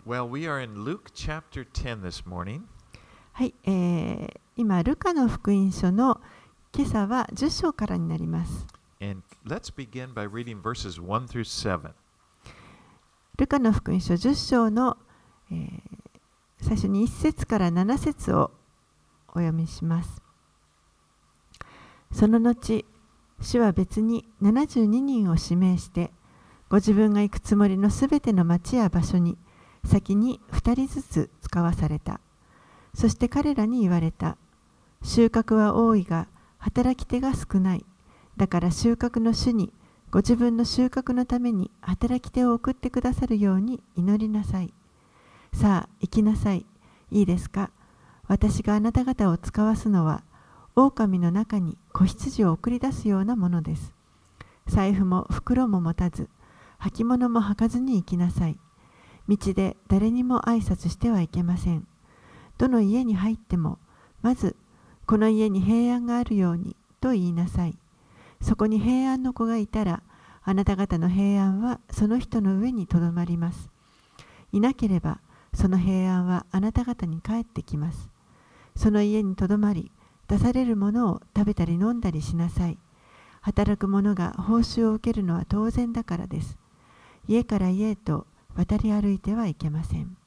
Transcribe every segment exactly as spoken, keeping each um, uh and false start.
Well, we are in Luke chapter ten this morning. はい、えー、今、ルカの福音書の今朝はじゅっ章からになります。 And let's begin by reading verses one through seven. ルカの福音書じゅっ章の、えー、最初にいち節からなな節をお読みします。その後、主は別にななじゅうににんを指名して、ご自分が行くつもりのすべての町や場所に先にふたりずつ使わされた。そして彼らに言われた。収穫は多いが働き手が少ない。だから収穫の主にご自分の収穫のために働き手を送ってくださるように祈りなさい。さあ行きなさい。いいですか。私があなた方を使わすのは狼の中に子羊を送り出すようなものです。財布も袋も持たず、履物も履かずに行きなさい。道で誰にも挨拶してはいけません。どの家に入っても、まず、この家に平安があるようにと言いなさい。そこに平安の子がいたら、あなた方の平安はその人の上にとどまります。いなければ、その平安はあなた方に返ってきます。その家にとどまり、出されるものを食べたり飲んだりしなさい。働く者が報酬を受けるのは当然だからです。家から家へと渡り歩いてはいけません。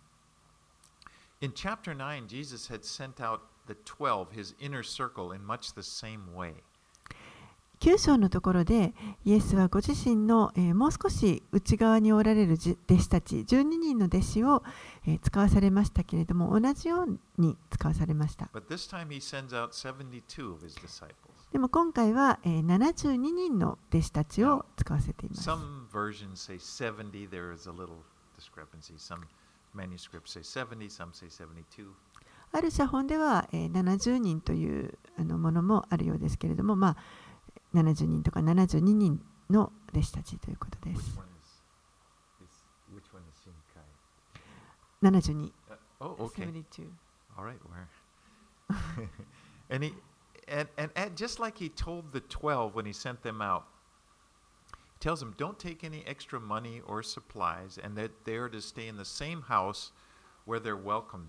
In chapter nine, Jesus had sent out the twelve, his inner circle, in much the same way. きゅう章のところで、イエスはご自身の、えー、もう少し内側におられる弟子たち、じゅうににんの弟子を、えー、使わされましたけれども、同じように使わされました。 But this time he sends out seventy-two of his disciples. でも今回は、えー、ななじゅうににんの弟子たちを使わせています。 Some versions say seventy, there is a little discrepancy. Some manuscripts say seventy, some say seventy-two. ある写本では、えー、ななじゅうにんというあのものもあるようですけれども、まあ、ななじゅうにんとかななじゅうににんの弟子たちということです。ななじゅうに。 Uh, oh, okay. seventy-two. All right, where? and he and, and and just like he told the twelve when he sent them out, he tells them don't take any extra money or supplies, and that they are to stay in the same house where they're welcomed.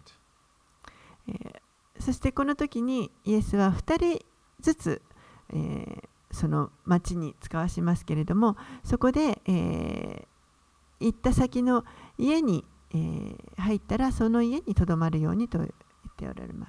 そしてこの時にイエスはふたりずつ、えー、その町に使わしますけれども、そこで、えー、行った先の家に、えー、入ったらその家にとどまるようにと言っておられます。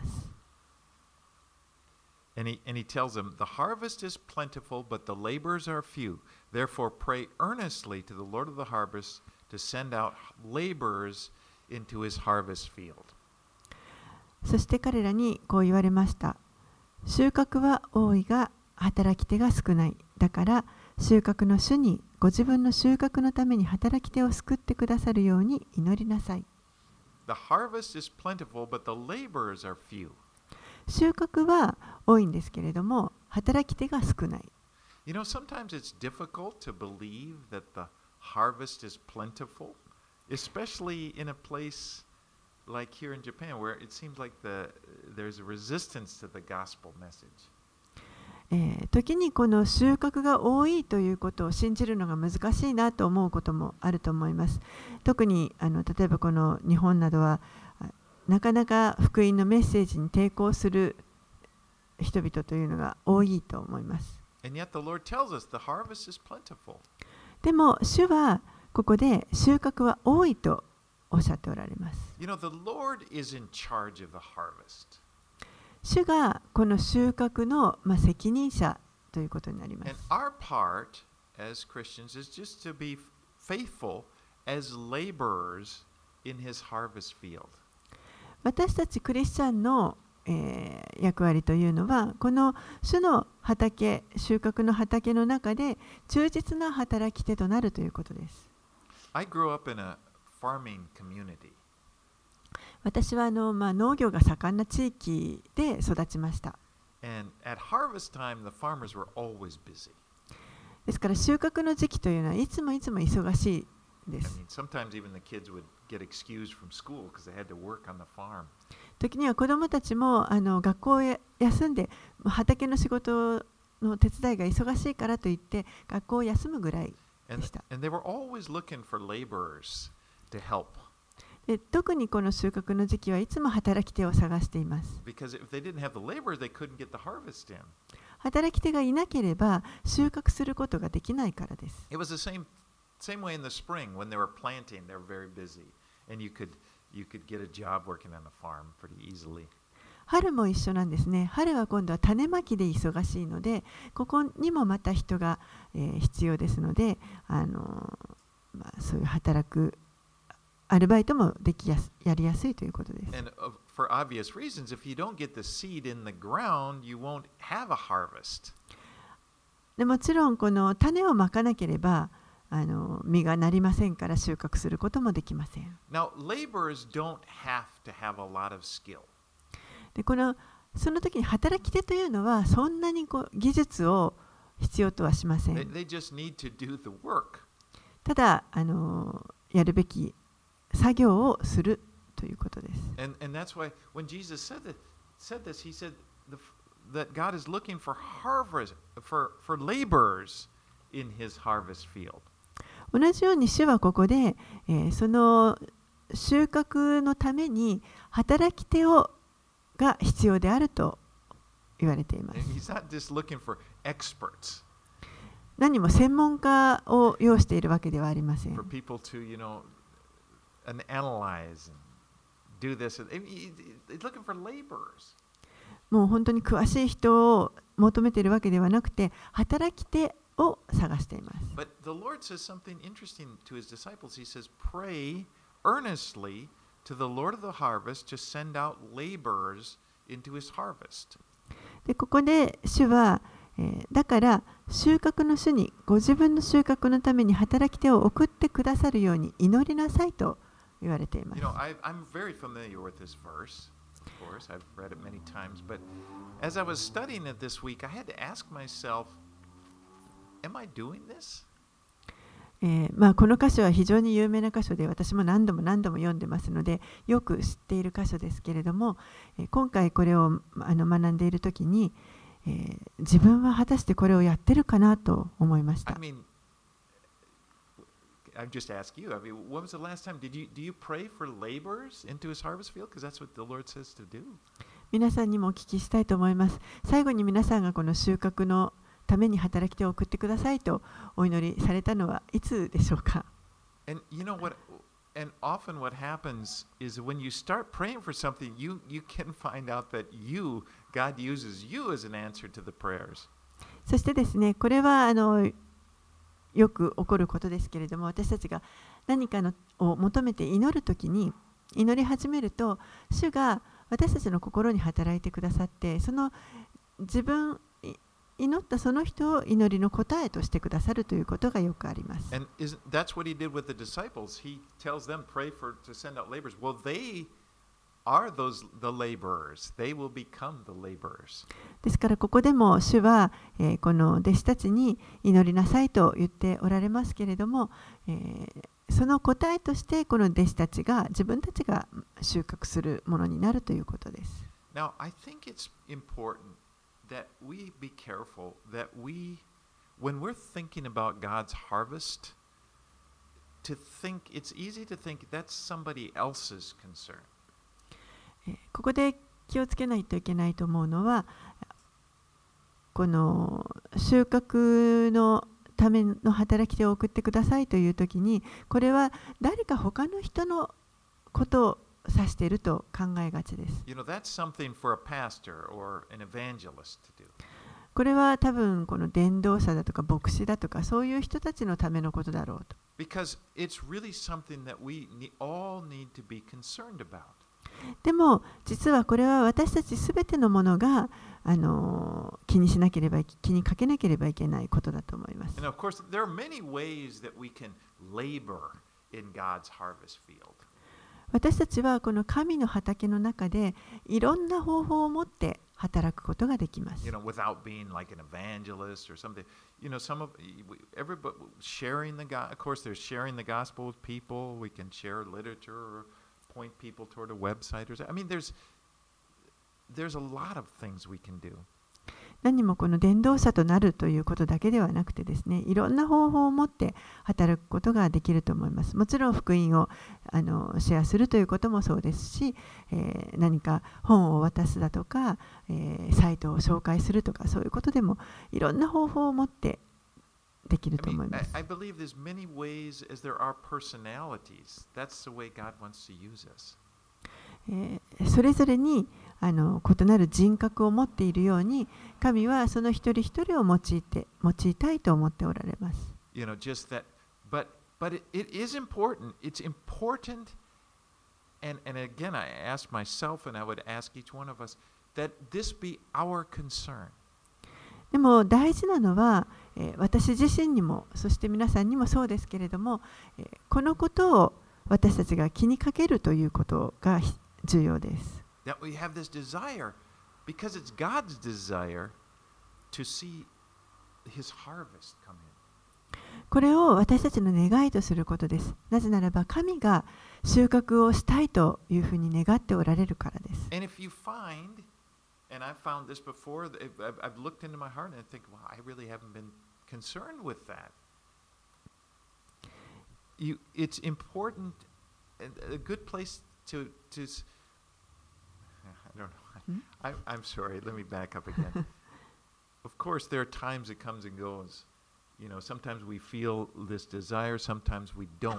And he, and he tells them, the harvest is plentiful, but the laborers are few. Therefore, pray earnestly to the Lord of the harvest to send out laborers into his harvest field. そして彼らにこう言われました。収穫は多いが働き手が少ない。だから収穫の主にご自分の収穫のために働き手を救ってくださるように祈りなさい。 The harvest is plentiful, but the laborers are few. 収穫は多いんですけれども、働き手が少ない。 You know, sometimes it's difficult to believe that the harvest is plentiful, especially in a place like here in Japan, where it seems like the, there's a resistance to the gospel message. えー、時にこの収穫が多いということを信じるのが難しいなと思うこともあると思います。特にあの例えばこの日本などはなかなか福音のメッセージに抵抗する人々というのが多いと思います。 And yet the Lord tells us the harvest is plentiful. でも主はここで収穫は多いとおっしゃっておられます。 You know, the Lord is in charge of the harvest. 主がこの収穫の、まあ、責任者ということになります。 And our part as Christians is just to be faithful as laborers in his harvest field. 私たちクリスチャンの、えー、役割というのは、この主の畑、収穫の畑の中で忠実な働き手となるということです。 I grew up in a farming community. 私はあの、まあ、農業が盛んな地域で育ちました。 And at harvest time, the farmers were always busy. ですから収穫の時期というのはいつもいつも忙しいです。 I mean, sometimes even the kids would get excused from school because they had to work on the farm. 時には子どもたちもあの学校を休んで畑の仕事の手伝いが忙しいからといって学校を休むぐらいでした。 And, and they were always looking for laborers to help. で特にこの収穫の時期はいつも働き手を探しています。 Because if they didn't have the laborers, they couldn't get the harvest in. 働き手がいなければ収穫することができないからです。 It was the same same way in the spring when they were planting, they were very busy, and you could you could get a job working on a farm pretty easily. 春も一緒なんですね。春は今度は種まきで忙しいので、ここにもまた人が、えー、必要ですので、あのーまあ、そういう働くアルバイトもできやすやりやすいということです。 And uh, for obvious reasons, if you don't get the seed in the ground, you won't have a harvest. でもちろんこの種をまかなければあの実がなりませんから収穫することもできません。 Now, laborers don't have to have a lot of skill. でこのその時に働き手というのはそんなにこう技術を必要とはしません。 They, they just need to do the work. ただあのやるべき作業をするということです。 And, and that's why when Jesus said, that, said this, he said the, that God is looking for harvest, for, for laborers in his harvest field. 同じように主はここで、えー、その収穫のために働き手をが必要であると言われています。 And he's not just looking for experts. 何も専門家を要しているわけではありません。 For people to, you know, and analyze and do this. He's looking for laborers. もう本当に詳しい人を求めているわけではなくて、働き手を探しています。 But the Lord says something interesting to his disciples. He says, pray earnestly to the Lord of the harvest to send out laborers into his harvest. でここで主は、えー、だから収穫の主にご自分の収穫のために働き手を送ってくださるように祈りなさいと言われています。 You know, I, I'm very familiar with this verse. Of course, I've read it many times. But as I was studying it this week, I had to ask myself, am I doing this? えーまあ、この箇所は非常に有名な箇所で私も何度も何度も読んでますのでよく知っている箇所ですけれども、えー、今回これをあの学んでいるときに、えー、自分は果たしてこれをやってるかなと思いました。 I mean, I've just asked you, I mean, when was the last time, did you, do you pray for laborers into his harvest field? Because that's what the Lord says to do. 皆さんにもお聞きしたいと思います。最後に皆さんがこの収穫のために働き手を送ってくださいとお祈りされたのはいつでしょうか。 And you know what? And often what happens is when you start praying for something, you, you can find out that you, God uses you as an answer to the prayers. そしてですね、これはあのよく起こることですけれども、私たちが何かのを求めて祈るときに祈り始めると、主が私たちの心に働いてくださって、その自分祈ったその人を祈りの答えとしてくださるということがよくあります。 And isn't, that's what he did with the disciples. He tells them, pray for to send out laborers. Well, they are those the laborers. They will become the laborers. ですからここでも主は、えー、この弟子たちに祈りなさいと言っておられますけれども、えー、その答えとしてこの弟子たちが自分たちが収穫するものになるということです。 Now, I think it's important that we be careful that we, when we're thinking about God's harvest, to think, it's easy to think that's somebody else's concern. ここで気をつけないといけないと思うのは、この収穫のための働き手を送ってくださいというときに、これは誰か他の人のことを指していると考えがちです。 You know, that's something for a pastor or an evangelist to do. これは多分この伝道者だとか牧師だとかそういう人たちのためのことだろうと。 Because it's really something that we all need to be concerned about. でも実はこれは私たちすべてのものがあの気にしなければ気にかけなければいけないことだと思います。 And of course, there are many ways that we can labor in God's harvest field. 私たちはこの神の畑の中でいろんな方法を持って働くことができます。 You know, without being like an evangelist or something. You know, some of everybody sharing the God. Of course, there's sharing the gospel with people. We can share literature or point people toward a website or. I mean, there's there's a lot of things we can do. 何もこの伝道者となるということだけではなくてですね、いろんな方法を持って働くことができると思います。もちろん福音をあのシェアするということもそうですし、えー、何か本を渡すだとか、えー、サイトを紹介するとか、そういうことでもいろんな方法を持ってできると思います。 I mean, I, I believe there's many ways as there are personalities. That's the way God wants to use us. えー、それぞれにあの異なる人格を持っているように、神はその一人一人を用いて用いたいと思っておられます。 You know, just that, but but it, it is important. It's important, and and again, I ask myself, and I would ask each one of us, that this be our concern. でも大事なのは、えー、私自身にも、そして皆さんにもそうですけれども、えー、このことを私たちが気にかけるということが重要です。 That we have this desire, because it's God's desire to see His harvest come in. これを私たちの願いとすることです。なぜならば神が収穫をしたいというふうに願っておられるからです。 And if you find, and I've found this before, I've, I've looked into my heart and I think, wow, I really haven't been concerned with that. You, it's important, a good place to, to I don't know. I, I'm sorry. Let me back up again. Of course, there are times it comes and goes. You know, sometimes we feel this desire, sometimes we don't.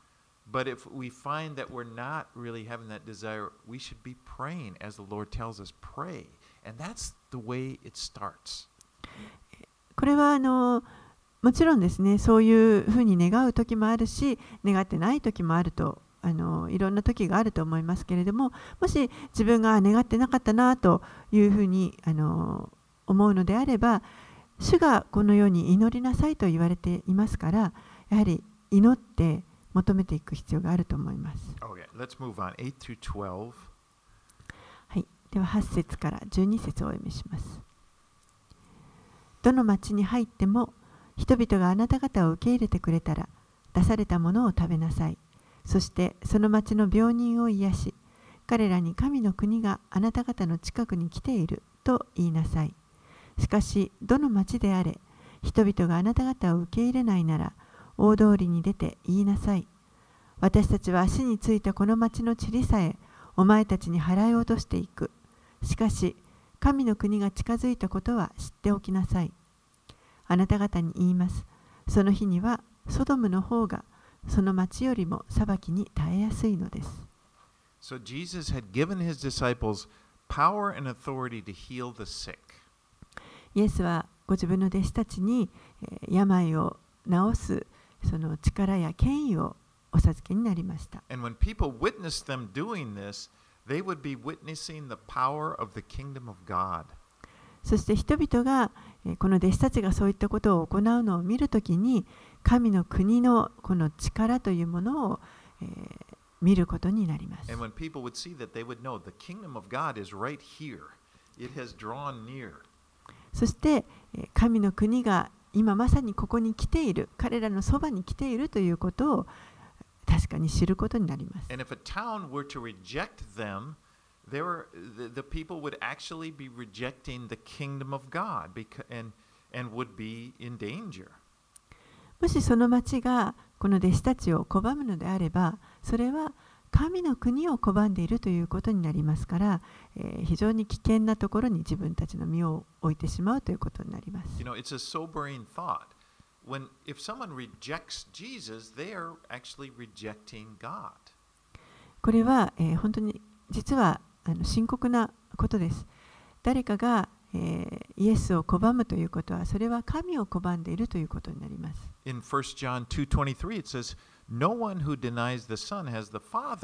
But if we find that we're not really having that desire, we should be praying as the Lord tells us, pray. And that's the way it starts. これはあのもちろんですね、そういうふうに願う時もあるし、願ってない時もあると、あのいろんな時があると思いますけれども、もし自分が願ってなかったなというふうにあの思うのであれば、主がこのように祈りなさいと言われていますから、やはり祈って求めていく必要があると思います。 Okay, let's move on. eight through twelve. はい、でははち節からじゅうに節をお読みします。どの町に入っても、人々があなた方を受け入れてくれたら、出されたものを食べなさい。そしてその町の病人を癒し、彼らに神の国があなた方の近くに来ていると言いなさい。しかし、どの町であれ、人々があなた方を受け入れないなら、大通りに出て言いなさい。私たちは足についたこの町の塵さえ、お前たちに払い落としていく。しかし、神の国が近づいたことは知っておきなさい。あなた方に言います。その日には、ソドムの方が、その町よりも裁きに耐えやすいのです。 So Jesus had given his disciples power and authority to heal the sick. イエスはご自分の弟子たちに、えー、病を治すその力や権威をお授けになりました。 And when people witnessed them doing this, they would be witnessing the power of the kingdom of God. そして人々が、えー、この弟子たちがそういったことを行うのを見るときに、神の国のこの力というものを、えー、見ることになります。 And when people would see that, they would know the kingdom of God is right here. It has drawn near. そして、えー、神の国が今まさにここに来ている、彼らのそばに来ているということを確かに知ることになります。 And if a town were to reject them, they were, the, the people would actually be rejecting the kingdom of God because, and, and would be in danger. もしその町がこの弟子たちを拒むのであれば、それは神の国を拒んでいるということになりますから、えー、非常に危険なところに自分たちの身を置いてしまうということになります。 You know, it's a sobering thought. When, if someone rejects Jesus, they are actually rejecting God. これは、えー、本当に実はあの深刻なことです。誰かが、えー、イエスを拒むということは、それは神を拒んでいるということになります。 In First John two twenty-three, it says, No one who denies the Son has the Father,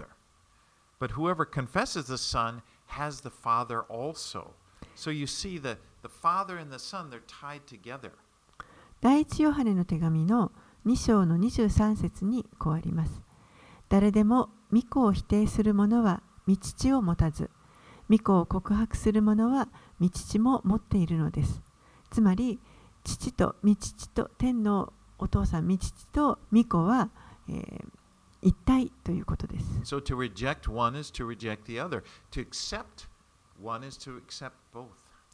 but whoever confesses the Son has the Father also. So you see, the, the Father and the Son, they're tied together. 第一ヨハネの手紙のに章のにじゅうさん節にこうあります。誰でも御子を否定する者は御父を持たず、御子を告白する者は御父も持っているのです。つまり、父と御父と天のお父さん、御父と御子は、えー、一体ということです。 So to reject one is to reject the other. To accept one is to accept both.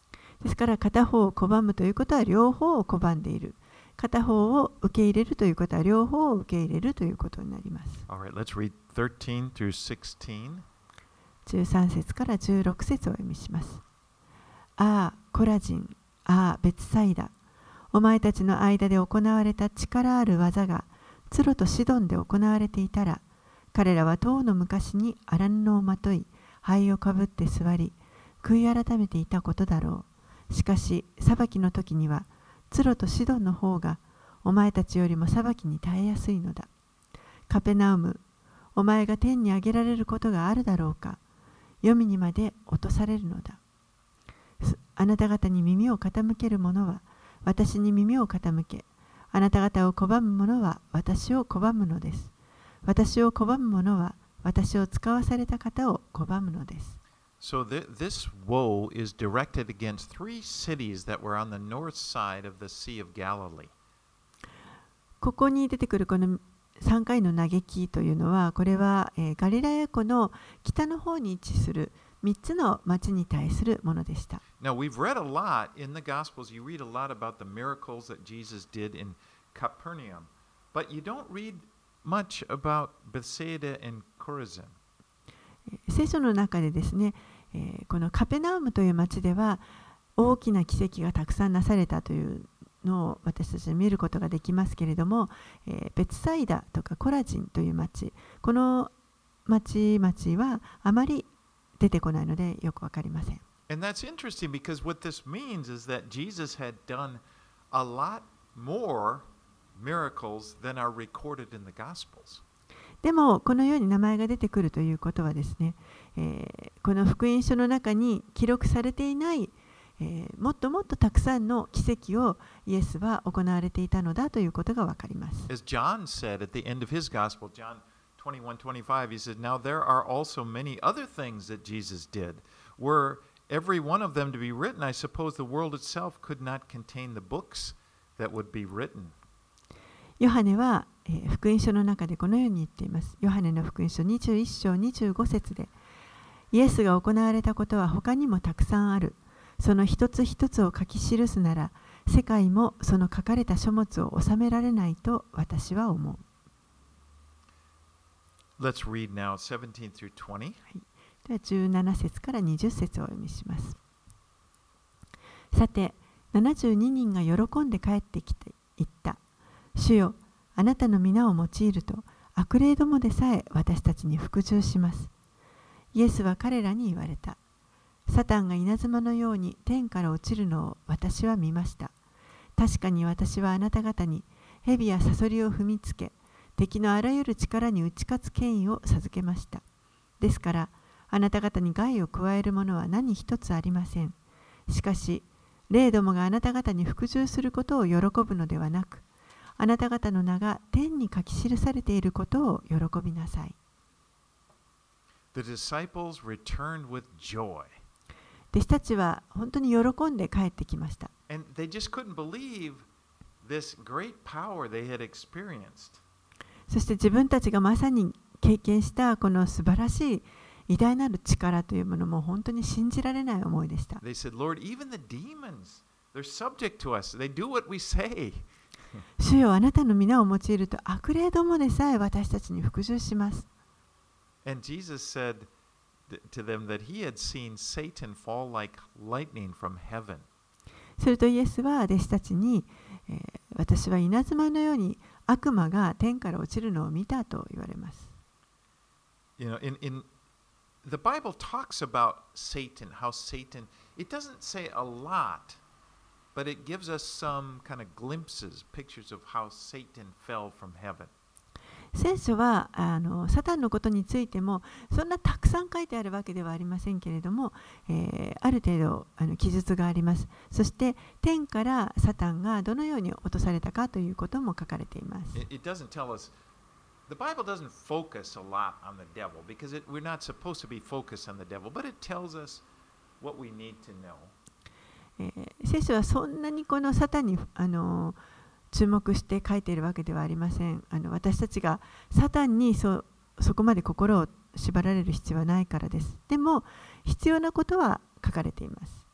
ですから片方を拒むということは両方を拒んでいる。片方を受け入れるということは両方を受け入れるということになります。 All right, let's read thirteen through sixteen. じゅうさん節からじゅうろく節をお読みします。ああ、コラジン、ああ、ベツサイダ。お前たちの間で行われた力ある技が、ツロとシドンで行われていたら、彼らはとうの昔に荒布をまとい、灰をかぶって座り、悔い改めていたことだろう。しかし、裁きの時には、ツロとシドンの方が、お前たちよりも裁きに耐えやすいのだ。カペナウム、お前が天に上げられることがあるだろうか。黄泉にまで落とされるのだ。あなた方に耳を傾ける者は、私に耳を傾け、あなた方を拒む者は私を拒むのです。私を拒む者は私を使わされた方を拒むのです。 So th- this woe is directed against three cities that were on the north side of the Sea of Galilee. ここに出てくるこのさんかいの嘆きというのは、これは、えー、ガリラヤ湖の北の方に位置するみっつの町に対するものでした。 Now, we've read a lot in the Gospels. You read a lot about the miracles that Jesus did in Capernaum, but you don't read much about Bethsaida and Chorazin. 聖書の中でですね、えー、このカペナウムという町では大きな奇跡がたくさんなされたというのを私たちは見ることができますけれども、えー、ベツサイダとかコラジンという町、この町々はあまり出てこないのでよくわかりません。 And that's interesting because what this means is that Jesus had done a lot more miracles than are recorded in the Gospels. でもこのように名前が出てくるということはですね、えー、この福音書の中に記録されていない、えー、もっともっとたくさんの奇跡をイエスは行われていたのだということがわかります。 As John said at the end of his Gospel, John twenty-one twenty-five, he said, Now there are also many other things that Jesus did. Were every one of them to be written, I suppose the world itself could not contain the books that would be written. ヨハネは、えー、福音書の中でこのように言っています。ヨハネの福音書にじゅういっ章にじゅうご節で、イエスが行われたことは他にもたくさんある。その一つ一つを書き記すなら、世界もその書かれた書物を収められないと私は思う。 Let's read now seventeen through twenty. はい、ではじゅうなな節からにじゅう節をお読みします。さて、ななじゅうににんが喜んで帰ってきて言った。主よ、あなたの皆を用いると悪霊どもでさえ私たちに服従します。イエスは彼らに言われた。サタンが稲妻のように天から落ちるのを私は見ました。確かに私はあなた方に蛇やサソリを踏みつけ、敵のあらゆる力に打ち勝つ権威を授けました。ですから、あなた方に害を加えるものは何一つありません。しかし、霊どもがあなた方に服従することを喜ぶのではなく、あなた方の名が天に書き記されていることを喜びなさい。 The disciples returned with joy. 弟子たちは本当に喜んで帰ってきました。 And they just couldn't believe this great power they had experienced. そして自分たちがまさに経験したこの素晴らしい偉大なる力というものも本当に信じられない思いでした。 They said, Lord, even the demons, they're subject to us. They do what we say. 主よ、あなたの皆を用いると悪霊どもでさえ私たちに服従します。 And Jesus said to them that he had seen Satan fall like lightning from heaven. するとイエスは弟子たちに、えー、私は稲妻のように悪魔が天から落ちるのを見たと言われます。 You know, in, in the Bible talks about Satan, how Satan, it doesn't say a lot, but it gives us some kind of glimpses, pictures of how Satan fell from heaven. 聖書はあのサタンのことについてもそんなたくさん書いてあるわけではありませんけれども、えー、ある程度あの記述があります。そして天からサタンがどのように落とされたかということも書かれています。 It, it doesn't tell us, the Bible doesn't focus a lot on the devil because it, we're not supposed to be focused on the devil, but it tells us what we need to know. えー、聖書はそんなにこのサタンにあの注目して書いているわけではありません。あの私たちがサタンに そ, そこまで心を縛られる必要はないからです。でも必要なことは書かれています。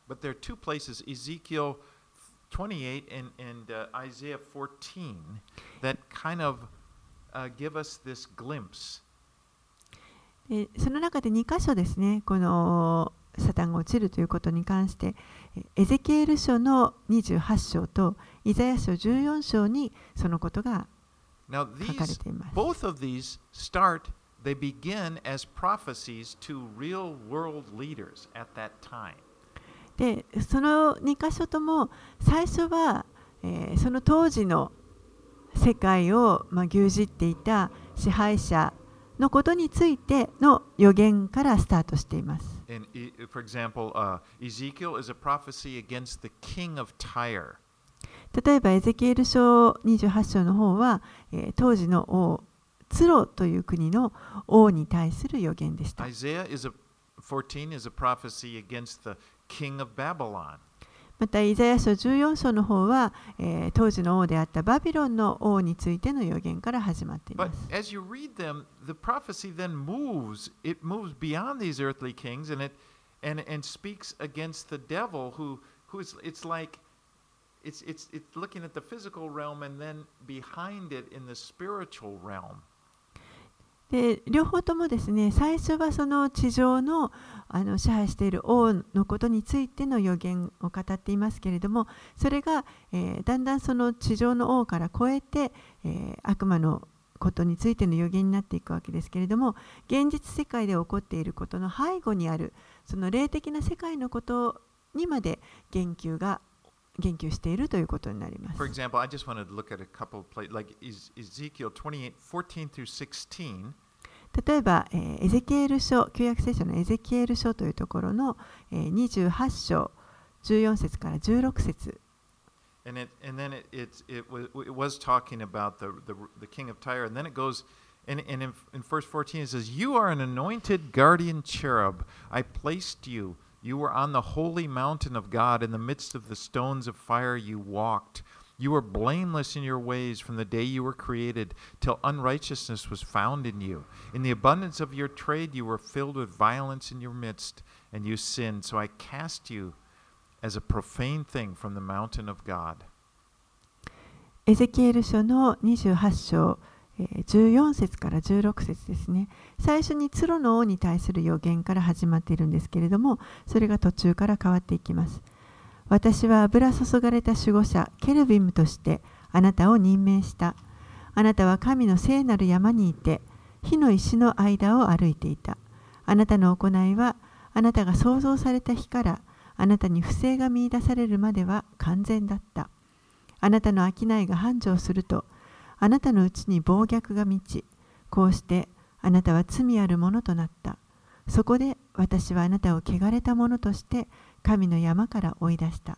But there are two places, Ezekiel twenty-eight and, and uh, Isaiah fourteen, that kind of uh, give us this glimpse. えその中でに箇所ですね、このサタンが落ちるということに関して、エゼキエル書のにじゅうはち章とイザヤ書じゅうよん章にそのことが Now 書かれ these, ています。 both of these start, they begin as prophecies to real world leaders at that time. で、そのに箇所とも最初は、えーその当時の世界を、まあ、牛耳っていた支配者のことについての予言からスタートしています。 And e- for example, uh, Ezekiel is a prophecy against the king of Tyre. 例えばエゼキエル書にじゅうはち章の方は、えー当時の王ツロという国の王に対する予言でした。 Isaiah is a fourteen is a prophecy against the king of Babylon. またイザヤ書じゅうよん章の方は、えー当時の王であったバビロンの王についての予言から始まってい But ます。 as you read them, the prophecy then moves. It moves beyond these earthly kings, and it and and speaks against the devil, who who is it's like it's it's it's looking at the physical realm, and then behind it in the spiritual realm. で両方ともですね、最初はその地上の、あの支配している王のことについての予言を語っていますけれども、それが、えーだんだんその地上の王から超えて、えー悪魔のことについての予言になっていくわけですけれども、現実世界で起こっていることの背後にあるその霊的な世界のことにまで言及が言及しているということになります。 For example, I just wanted to look at a couple of places, like Ez- Ezekiel twenty-eight, fourteen through sixteen. 例えば、えーエゼキエル書、旧約聖書のエゼキエル書というところの、えーにじゅうはち章じゅうよん節からじゅうろく節。 And it and then it it's, it was it was talking about the, the the king of Tyre, and then it goes and, and in, in verse fourteen it says, "You are an anointed guardian cherub. I placed you. You were on the holy mountain of God. In the midst of the stones of fire you walked. You were blameless in your ways from the day you were created till unrighteousness was found in you. In the abundance of your trade you were filled with violence in your midst, and you sinned. So I cast you as a profane thing from the mountain of God." エゼキエル書のにじゅうはち章、えーじゅうよん節からじゅうろく節ですね。最初にツロの王に対する予言から始まっているんですけれども、それが途中から変わっていきます。私は油注がれた守護者ケルビムとしてあなたを任命した。あなたは神の聖なる山にいて火の石の間を歩いていた。あなたの行いはあなたが創造された日からあなたに不正が見出されるまでは完全だった。あなたの商いが繁盛するとあなたのうちに暴虐が満ち、こうしてあなたは罪あるものとなった。そこで私はあなたを汚れたものとして神の山から追い出した。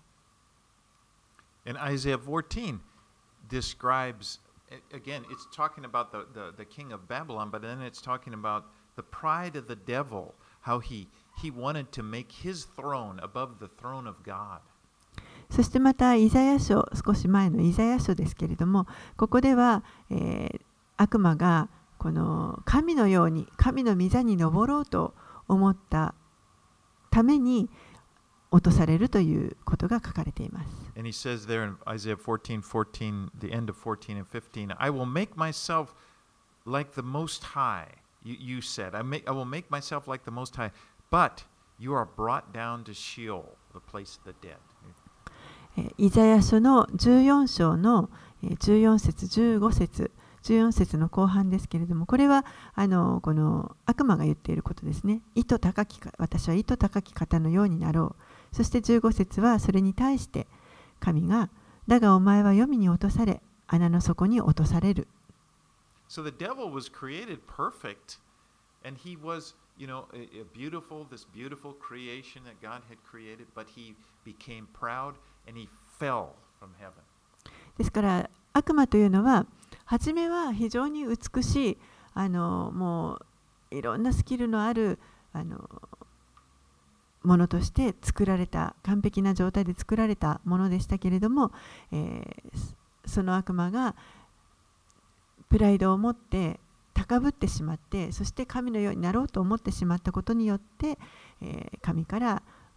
And Isaiah fourteen describes, again, it's talking about the, the, the king of Babylon, but then it's talking about the pride of the devil, how he, he wanted to make his throne above the throne of God. そしてまたイザヤ書、少し前のイザヤ書ですけれども、ここでは、えー悪魔がこの神のように神の御座に登ろうと思ったために落とされるということが書かれています。 And he says there in Isaiah fourteen, fourteen, the end of fourteen and fifteen, I will make myself like the Most High. You, you said, I, make, I will make myself like the Most High, but you are brought down to Sheol, the place of the dead. イザヤ書のじゅうよん章のじゅうよん節、じゅうご節、じゅうよん節の後半ですけれども、これはあのこの悪魔が言っていることですね。意図高きか、私は意図高き方のようになろう。そしてじゅうご節はそれに対して神が、だがお前は黄泉に落とされ、穴の底に落とされる。 So the devil was created perfect, and he was, you know, a, a beautiful, this beautiful creation that God had created, but he became proud and he fell from heaven. ですから悪魔というのは初めは非常に美しい、あのもういろんなスキルのあるあのものとして作られた、完璧な状態で作られたものでしたけれども、えー、その悪魔がプライドを持って高ぶってしまって、そして神のようになろうと思ってしまったことによって、えー、神から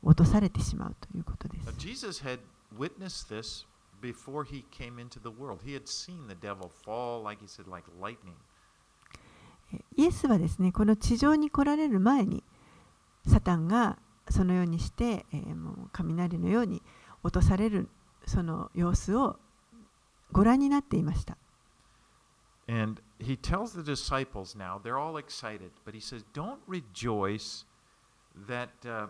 落とされてしまうということです。 Now, Jesus had witnessed this before he came into the world. He had seen the devil fall, like he said, like lightning. イエスはですね、この地上に来られる前に、サタンがそのようにして、えー、もう雷のように落とされるその様子をご覧になっていました。 And he tells the disciples now, they're all excited, but he says, don't rejoice that uh,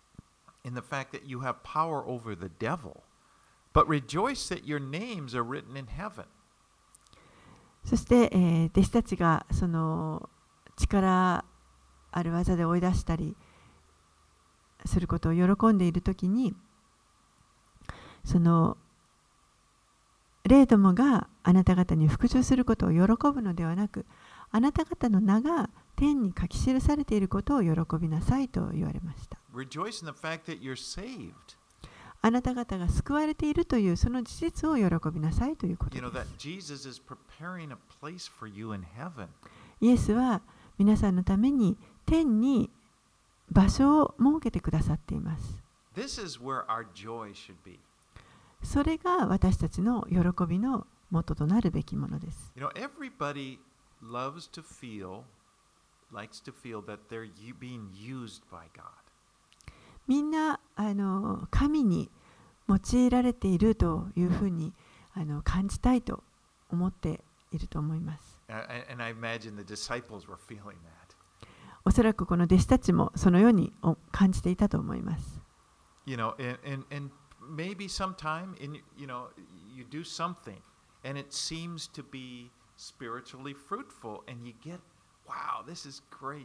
in the fact that you have power over the devil, but rejoice that your names are written in heaven. そして、えー、弟子たちがその力ある技で追い出したりすることを喜んでいるときに、その霊どもがあなた方に復讐することを喜ぶのではなく、あなた方の名が天に書き記されていることを喜びなさいと言われました。 Rejoice in the fact that you're saved. あなた方が救われているというその事実を喜びなさいということで You know す。 that Jesus is preparing a place for you in heaven. イエスは皆さんのために天に場所を設けてくださっています。 This is where our joy should be. それが私たちの喜びの元となるべきものです。 You know, everybody loves to feel, likes to feel that they're u- being used by God. みんなあの神に用いられているというふうにあの感じたいと思っていると思います。 And, and I imagine the disciples were feeling that. おそらくこの弟子たちもそのように感じていたと思います。 You know, and, and, and maybe sometime in you know you do something and it seems to be spiritually fruitful and you get, wow, this is great.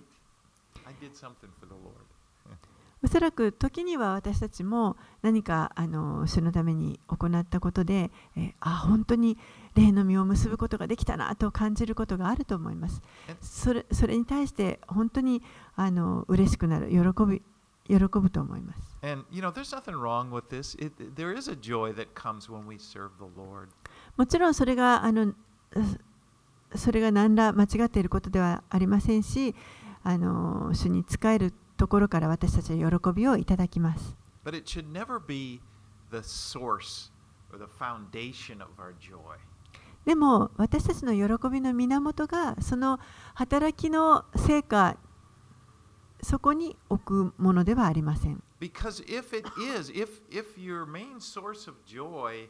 I did something for the Lord. おそらく時には私たちも何かあの主のために行ったことで、えー、あ本当に霊の実を結ぶことができたなと感じることがあると思います。それ、それに対して本当にあの嬉しくなる、喜び、喜ぶと思います。 And you know, there's nothing wrong with this. It, there is a joy that comes when we serve the Lord. もちろんそれがあのそれが何ら間違っていることではありませんし、あの主に仕えるところから私たちは喜びをいただきます。 But it should never be the source or the foundation of our joy. でも私たちの喜びの源がその働きの成果、そこに置くものではありません。 Because if it is, if if your main source of joy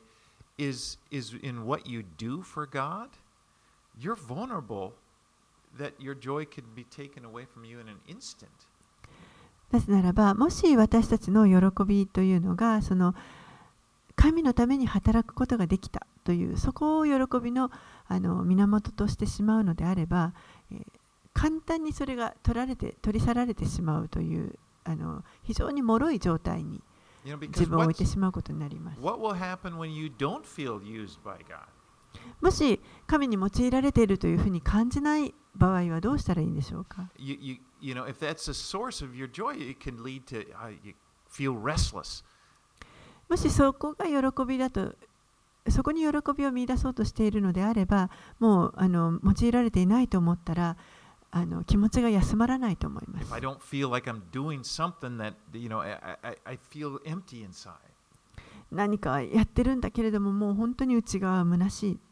is is in what you do for God, you're vulnerable that your joy can be taken away from you in an instant. なぜならば、もし私たちの喜びというのがその神のために働くことができたというそこを喜びのあの源としてしまうのであれば、えー、簡単にそれが取られて取り去られてしまうというあの非常に脆い状態に自分を置いてしまうことになります。 What will happen when you don't feel used by God? もし神に用いられているというふうに感じない場合はどうしたらいいんでしょうか。 You, you, you know, if that's the source of your joy, it can lead to uh, you feel restless. もしそこが喜びだと、そこに喜びを見出そうとしているのであれば、もうあの用いられていないと思ったら、あの気持ちが休まらないと思います。 If I don't feel like I'm doing something that, you know, I, I, I feel empty inside. 何かやってるんだけれども、もう本当に内側は虚しい。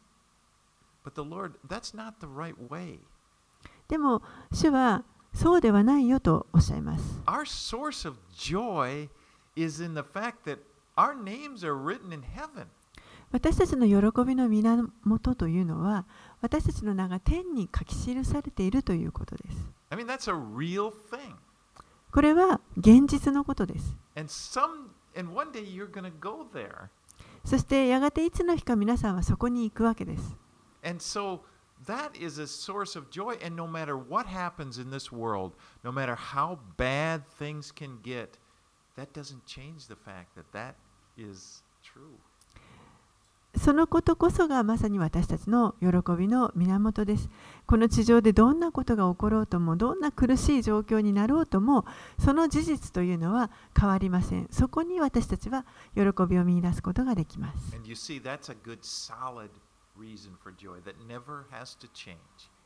But the Lord, that's not the right way. でも、主はそうではないよとおっしゃいます。 Our source of joy is in the fact that our names are written in heaven. 私たちの喜びの源というのは、私たちの名が天に書き記されているということです。 I mean, that's a real thing. これは現実のことです。 And some, and one day you're going to go there. そしてやがていつの日か皆さんはそこに行くわけです。 And so that is a source of joy. And no matter what happens in this world, no matter how bad things can get, that doesn't change the fact that that is true. そのことこそがまさに私たちの喜びの源です。この地上でどんなことが起ころうとも、どんな苦しい状況になろうとも、その事実というのは変わりません。そこに私たちは喜びを見出すことができます。 And you see, that's a good solid reason for joy that never has to change.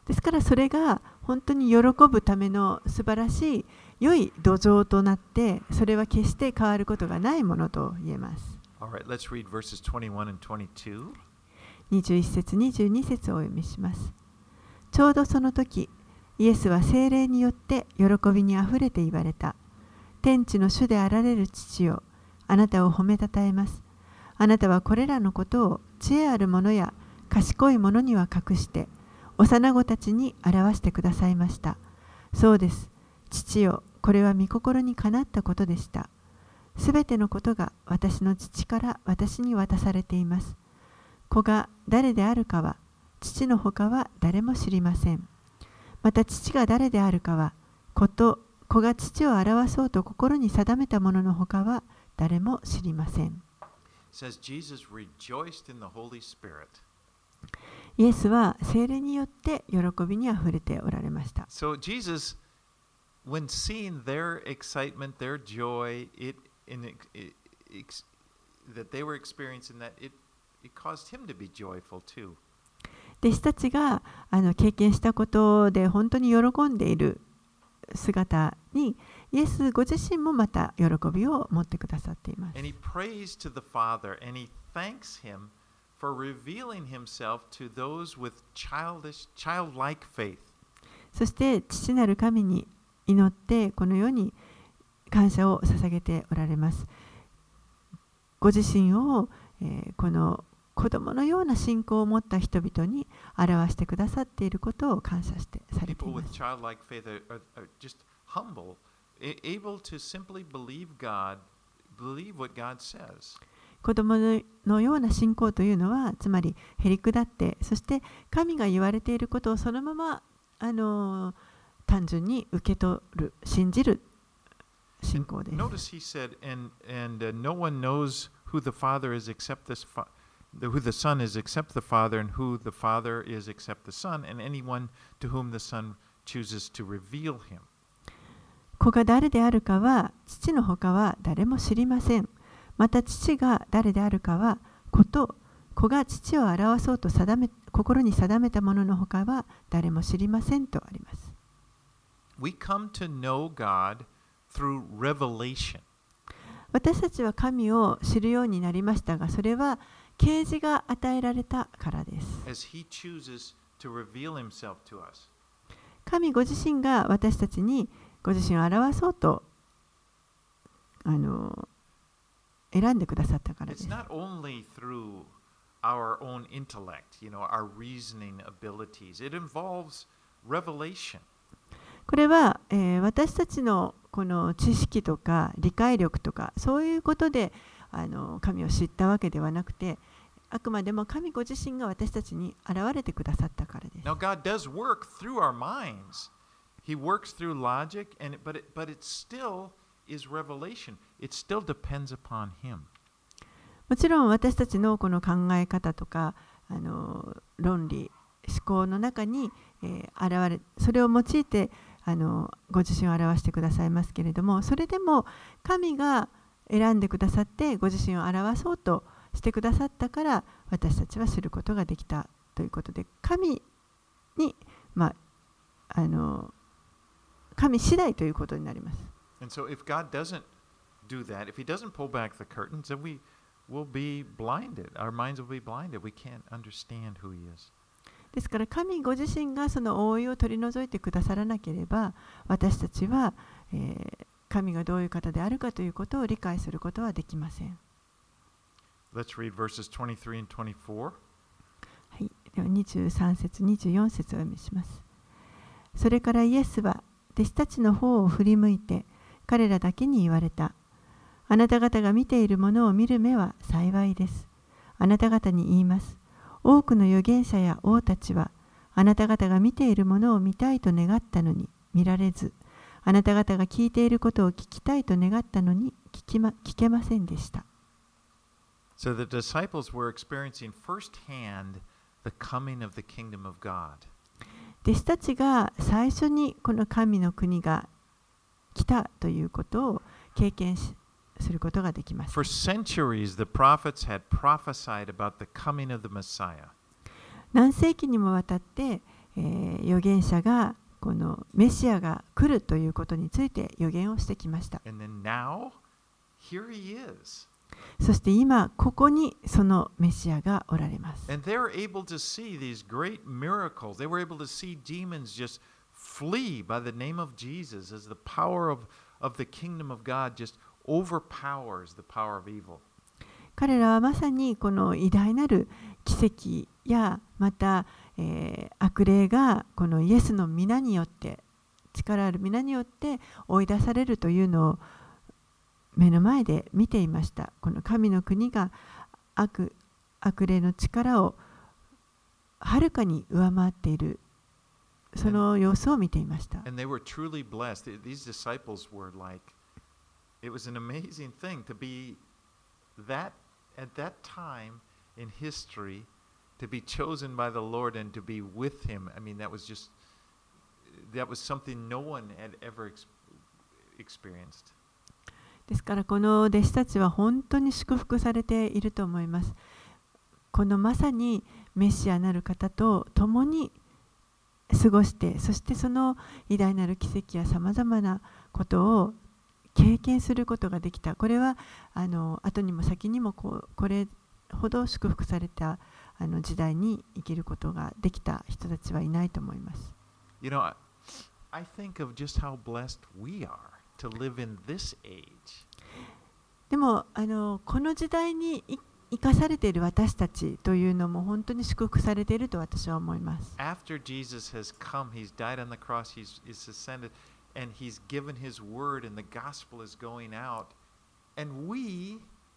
ですからそれが本当に喜ぶための素晴らしい良い土壌となって、それは決して変わることがないものと言えます。 Alright, let's read verses twenty-one and twenty-two. にじゅういち節、にじゅうに節をお読みします。ちょうどその時、イエスは聖霊によって喜びにあふれて言われた。天地の主であられる父よ、あなたを褒めたたえます。あなたはこれらのことを知恵ある者や賢い者には隠して、幼子たちに表してくださいました。そうです。父よ、これは御心にかなったことでした。すべてのことが私の父から私に渡されています。子が誰であるかは、父のほかは誰も知りません。また父が誰であるかは、子と子が父を表そうと心に定めたもののほかは誰も知りません。 Says Jesus rejoiced in the Holy Spirit. イエスは聖霊によって喜びにあふれておられました。 So Jesus, when seeing their excitement, their joy, it, in, it, it that they were experiencing that, it, it caused him to be joyful too. 弟子たちがあの経験したことで本当に喜んでいる姿に、イエスご自身もまた喜びを持ってくださっています。 And he prays to the Father and he thanks him for revealing himself to those with childish, childlike faith. そして父なる神に祈ってこのように感謝を捧げておられます。ご自身を、えー、この子供のような信仰を持った人々に表してくださっていることを感謝してされています。子供のような信仰というのは、つまりへりくだって、そして神が言われていることをそのままあの単純に受け取る、信じる信仰です。 Notice he said, and, and、uh, no one knows who the Father is except this Father.Who the Son is except the Father, and who the Father is except the Son, and anyone to whom the Son chooses to reveal him. 子が誰であるかは父のほかは誰も知りません。また父が誰であるかは子と子が父を表そうと定め心に定めたもののほかは誰も知りませんとあります。 We come to know God through revelation. 私たちは神を知るようになりましたが、それは啓示が与えられたからです。 As he chooses to reveal himself to us. 神ご自身が私たちにご自身を表そうとあの選んでくださったからです。 It's not only through our own intellect, you know, our reasoning abilities. It involves revelation. これは、えー、私たちのこの知識とか理解力とかそういうことであの神を知ったわけではなくて、あくまでも神ご自身が私たちに現れてくださったからです。 Now God does work through our minds. He works through logic, and but it, but it still is revelation. It still depends upon Him. もちろん私たちのこの考え方とかあの論理思考の中に、えー、現れそれを用いてあのご自身を表してくださいますけれども、それでも神が選んでくださってご自身を表そうとしてくださったから私たちは知ることができたということで、神に、まあ、あの神次第ということになります。 And so if God doesn't do that, if He doesn't pull back the curtains, then we will be blinded. Our minds will be blinded. We can't understand who He is. ですから神ご自身がその覆いを取り除いてくださらなければ、私たちは、えー、神がどういう方であるかということを理解することはできません。 Let's read verses twenty-three and twenty-four. はい、ではにじゅうさん節、にじゅうよん節をお読みします。それからイエスは弟子たちの方を振り向いて彼らだけに言われた。あなた方が見ているものを見る目は幸いです。あなた方に言います。多くの預言者や王たちはあなた方が見ているものを見たいと願ったのに見られず、あなた方が聞いていることを聞きたいと願ったのに聞き、ま、聞けませんでした。 So the disciples were experiencing firsthand the coming of the kingdom of God. 弟子たちが最初にこの神の国が来たということを経験しすることができます。 For centuries, the prophets had prophesied about the coming of the Messiah. 何世紀にもわたってえー、預言者がこのメシアが来るということについて預言をしてきました。 And then now, here he is. そして今ここにそのメシアがおられます。 And they're able to see these great miracles. They were able to see demons just flee by the name of Jesus as the power of, of the kingdom of God just overpowers the power of evil. 彼らはまさにこの偉大なる奇跡やまた、えー、悪霊がこのイエスの皆によって力ある皆によって追い出されるというのを目の前で見ていました。この神の国が 悪, 悪霊の力をはるかに上回っているその様子を見ていました。 And they were truly blessed. These disciples were like, it was an amazing thing to be that at that time in history to be chosen by the Lord and to be with him. I mean, that was just, that was something no one had ever experienced. ですからこの弟子たちは本当に祝福されていると思います。このまさにメシアなる方と共に過ごして、そしてその偉大なる奇跡やさまざまなことを経験することができた。これはあの後にも先にもこうこれほど祝福されたあの時代に生きることができた人たちはいないと思います。 You know, I, I think of just how blessed we are to live in this age. でもあのこの時代に生かされている私たちというのも本当に祝福されていると私は思います。 After Jesus has come, he's died on the cross, he's, he's ascended, and he's given his word, and the gospel is going out, and we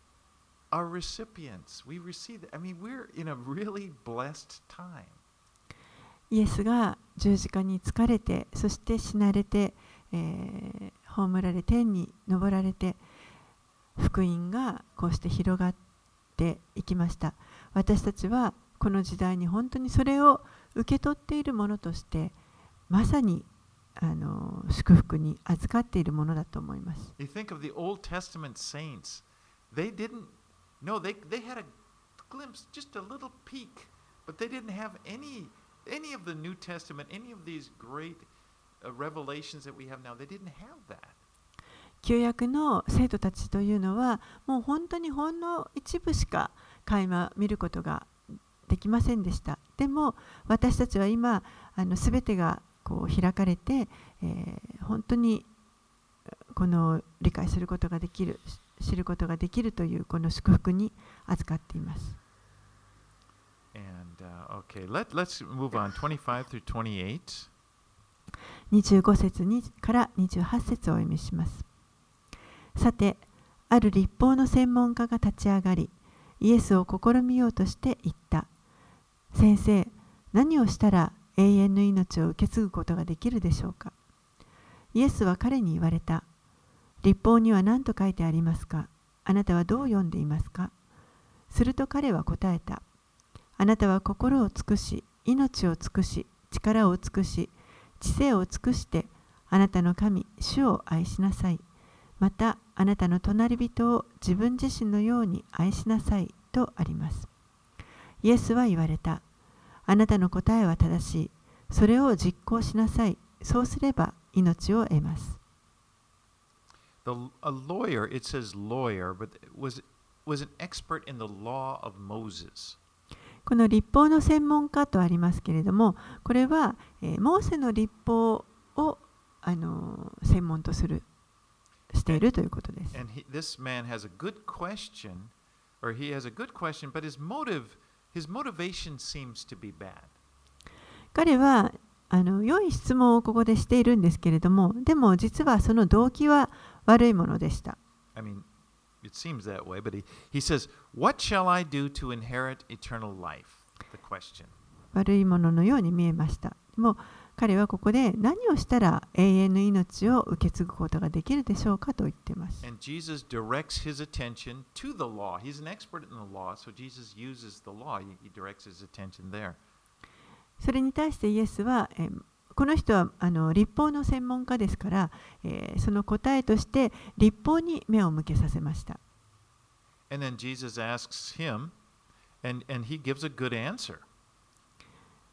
are recipients. We receive it. I mean, we're in a really blessed time. イエスが十字架につかれて、そして死なれて、えー、葬られ天に昇られて、福音がこうして広がっていきました。私たちはこの時代に本当にそれを受け取っているものとして、まさにあの祝福に預かっているものだと思います。 You think of the Old Testament saints. They didn't, no, they, they had a glimpse, just a little peek, but they didn't have any, any of the New Testament, any of these great uh, revelations that we have now. They didn't have that. 旧約の生徒たちというのはもう本当にほんの一部しか垣間見ることができませんでした。でも私たちは今あの全てがこう開かれて、えー、本当にこの理解することができる、知ることができるというこの祝福に預かっています。 And, uh, okay, let, let's move on. twenty-five through twenty-eight. にじゅうご節にからにじゅうはち節をお読みします。さて、ある律法の専門家が立ち上がり、イエスを試みようとして言った。先生、何をしたら永遠の命を受け継ぐことができるでしょうか。イエスは彼に言われた。律法には何と書いてありますか。あなたはどう読んでいますか。すると彼は答えた。あなたは心を尽くし、命を尽くし、力を尽くし、知性を尽くして、あなたの神、主を愛しなさい。また、あなたの隣人を自分自身のように愛しなさいとあります。イエスは言われた。あなたの答えは正しい。それを実行しなさい。そうすれば命を得ます。 The, a lawyer, it says lawyer, but was, was an expert in the law of Moses. この律法の専門家とありますけれども、これは、えー、モーセの律法を、あのー、専門とする。しているということです。 And he, this man has a good question, or he has a good question, but his motive, his motivation seems to be bad. 彼はあの良い質問をここでしているんですけれども、でも実はその動機は悪いものでした。 I mean, it seems that way, but he, he says, "What shall I do to inherit eternal life?" The question. 悪いもののように見えました。でも彼はここで何をしたら永遠の命を受け継ぐことができるでしょうかと言っています。 And Jesus directs his attention to the law. He's an expert in the law, so Jesus uses the law. He, he directs his attention there. それに対してイエスは、えー、この人はあの律法の専門家ですから、えー、その答えとして律法に目を向けさせました。 And then Jesus asks him, and, and he gives a good answer.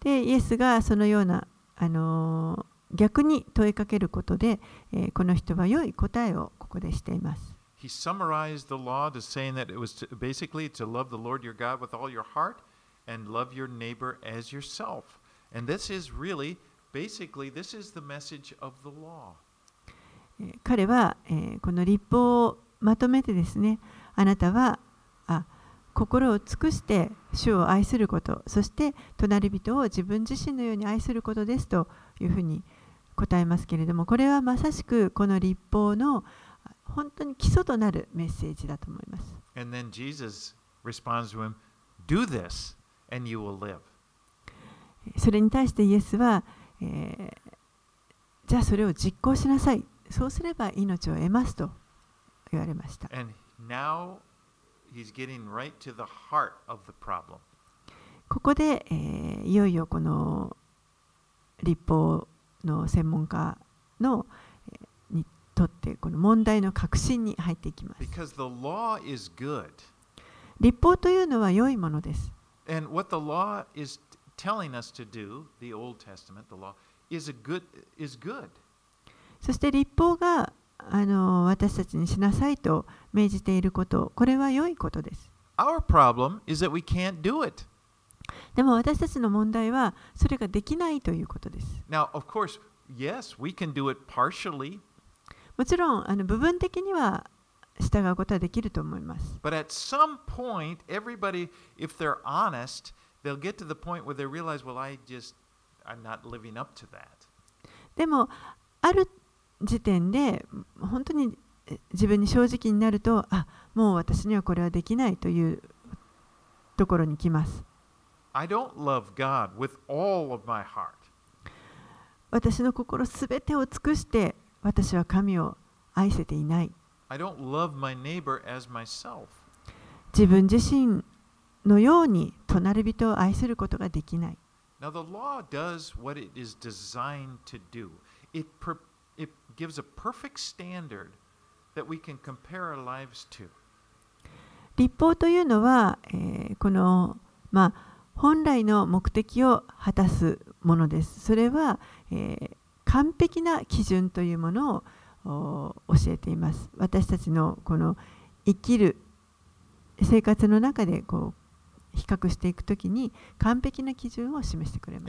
で、イエスがそのような、あのー、逆に問いかけることで、えー、この人は良い答えをここでしています。 He summarized the law to saying that it was to, basically to love the Lord your God with all your heart and love your neighbor as yourself. And this is really, basically, this is the message of the law. 彼は、えー、この律法をまとめてですね、あなたはあ心を尽くして主を愛すること、そして隣人を自分自身のように愛することですというふうに答えますけれども、これはまさしくこの律法の本当に基礎となるメッセージだと思います。 And then Jesus responds to him, do this and you will live. それに対してイエスは、えー、じゃあそれを実行しなさい。そうすれば命を得ますと言われました。 And now he's getting right to the heart of the problem. ここで、えー、いよいよこの律法の専門家の、えー、にとってこの問題の核心に入っていきます。 Because the law is good. 律法というのは良いものです。 And what the law is telling us to do, the Old Testament, the law, is a good, is good. そして律法があの私たちにしなさいと命じていること、これは良いことです。 Our problem is that we can't do it. でも私たちの問題はそれができないということです。 Now, of course, yes, we can do it partially. もちろんあの部分的には従うことはできると思います。 But at some point, everybody, if they're honest, they'll get to the point where they realize, well, I just, I'm not living up to that. でも、ある時点で本当に自分に正直になると、あ、もう私にはこれはできないというところに来ます。 I don't love God with all of my heart. 私の心すべてを尽くして私は神を愛せていない。 I don't love my neighbor as myself. 自分自身のように隣人を愛することができない。 Now, the law does what it is designed to do. It, per, it gives a perfect standard that we can compare our lives to. 律法というのは、えー、この、まあ、本来の目的を果たすものです。それは、えー、完璧な基準というものを教えています。私たちのこの生きる生活の中でこう比較していくときに完璧な基準を示してくれます。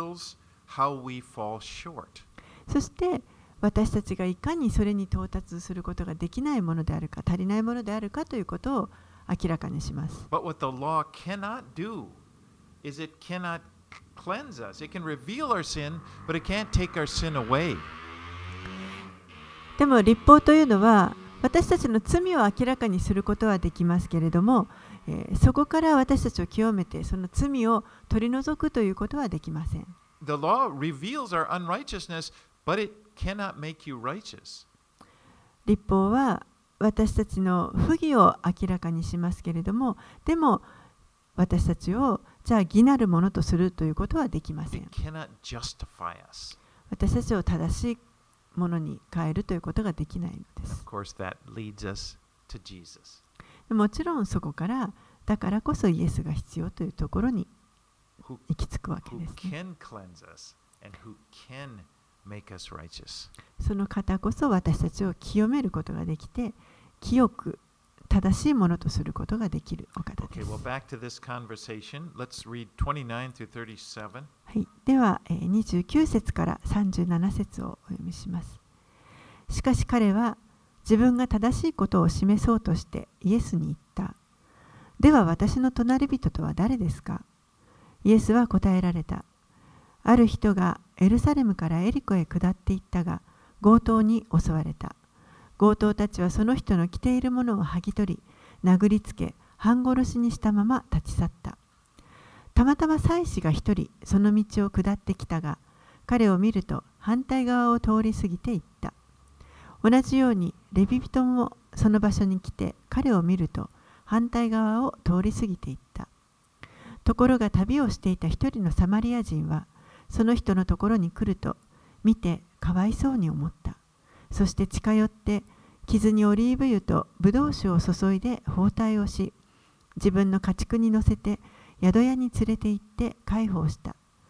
そして私たちがいかにそれに到達することができないものであるか、足りないものであるかということを明らかにします。 But what the law cannot do is it cannot cleanse us. It can reveal our sin, but it can't take our sin away. でも律法というのは私たちの罪を明らかにすることはできますけれども、えー、そこから私たちを清めてその罪を取り除くということはできません。 The law reveals our unrighteousness, but it cannot make you righteous. 律法は私たちの不義を明らかにしますけれども、でも私たちをじゃあ義なるものとするということはできません。 It cannot justify us. 私たちを正しいものに変えるということができないのです。 Of course, that leads us to Jesus. もちろんそこからだからこそイエスが必要というところに行き着くわけです、ね。 Who can cleanse us and who can make us righteous. その方こそ私たちを清めることができて、清く正しいものとすることができるお方です。 Okay, well, back to this conversation. Let's read twenty-nine through thirty-seven. はい、ではにじゅうきゅう節からさんじゅうなな節をお読みします。しかし彼は自分が正しいことを示そうとしてイエスに言った。では私の隣人とは誰ですか？イエスは答えられた。ある人がエルサレムからエリコへ下っていったが、強盗に襲われた。強盗たちはその人の着ているものを剥ぎ取り、殴りつけ、半殺しにしたまま立ち去った。たまたま祭司が一人その道を下ってきたが、彼を見ると反対側を通り過ぎていった。同じようにレビ人もその場所に来て彼を見ると反対側を通り過ぎていった。ところが旅をしていた一人のサマリア人はその人のところに来ると見てかわいそうに思った。そして近寄って傷にオリーブ油とブドウ酒を注いで包帯をし、自分の家畜に乗せて宿屋に連れて行って介抱した。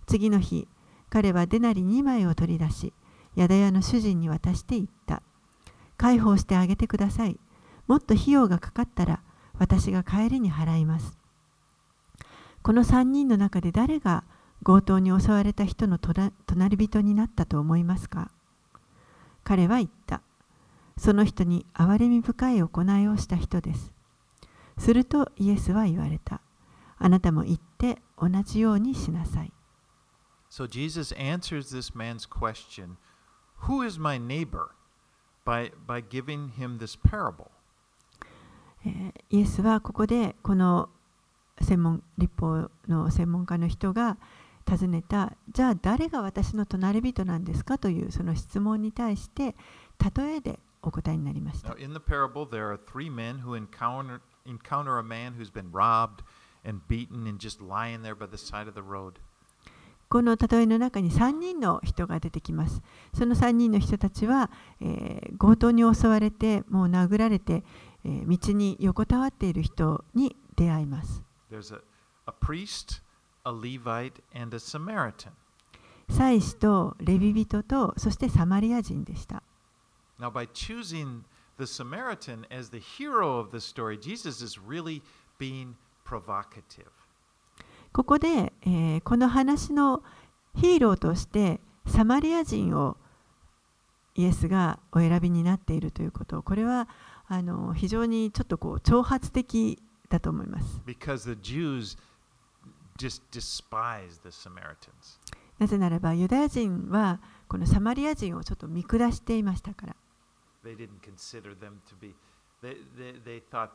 次の日、彼はデナリにまいを取り出し、宿屋の主人に渡して言った。解放してあげてください。もっと費用がかかったら、私が帰りに払います。このさんにんの中で誰が強盗に襲われた人の隣人になったと思いますか？彼は言った。その人に憐れみ深い行いをした人です。するとイエスは言われた。あなたも行って同じようにしなさい。 So Jesus answers this man's question, Who is my neighbor? by, by giving him this parable. イエスはここでこの専門立法の専門家の人が尋ねた、じゃあ誰が私の隣人なんですかというその質問に対して例えでお答えになりました。 Now, in the parable, there are three men who encounter, encounter a man who's been robbed and beaten and just lying there by the side of the road. この例えの中にさんにんの人が出てきます。そのさんにんの人たちは、えー、強盗に襲われて、もう殴られて、えー、道に横たわっている人に出会います。 There's a, a priest, a Levite, and a Samaritan. 祭司とレビ人と、そしてサマリア人でした。 Now, by choosing the Samaritan as the hero of the story, Jesus is really being provocative. ここで、えー、この話のヒーローとしてサマリア人をイエスがお選びになっているということ、これはあの非常にちょっとこう挑発的だと思います。 Because the Jews just despise the Samaritans. なぜならばユダヤ人はこのサマリア人をちょっと見下していましたから。 They didn't consider them to be, they, they, they thought,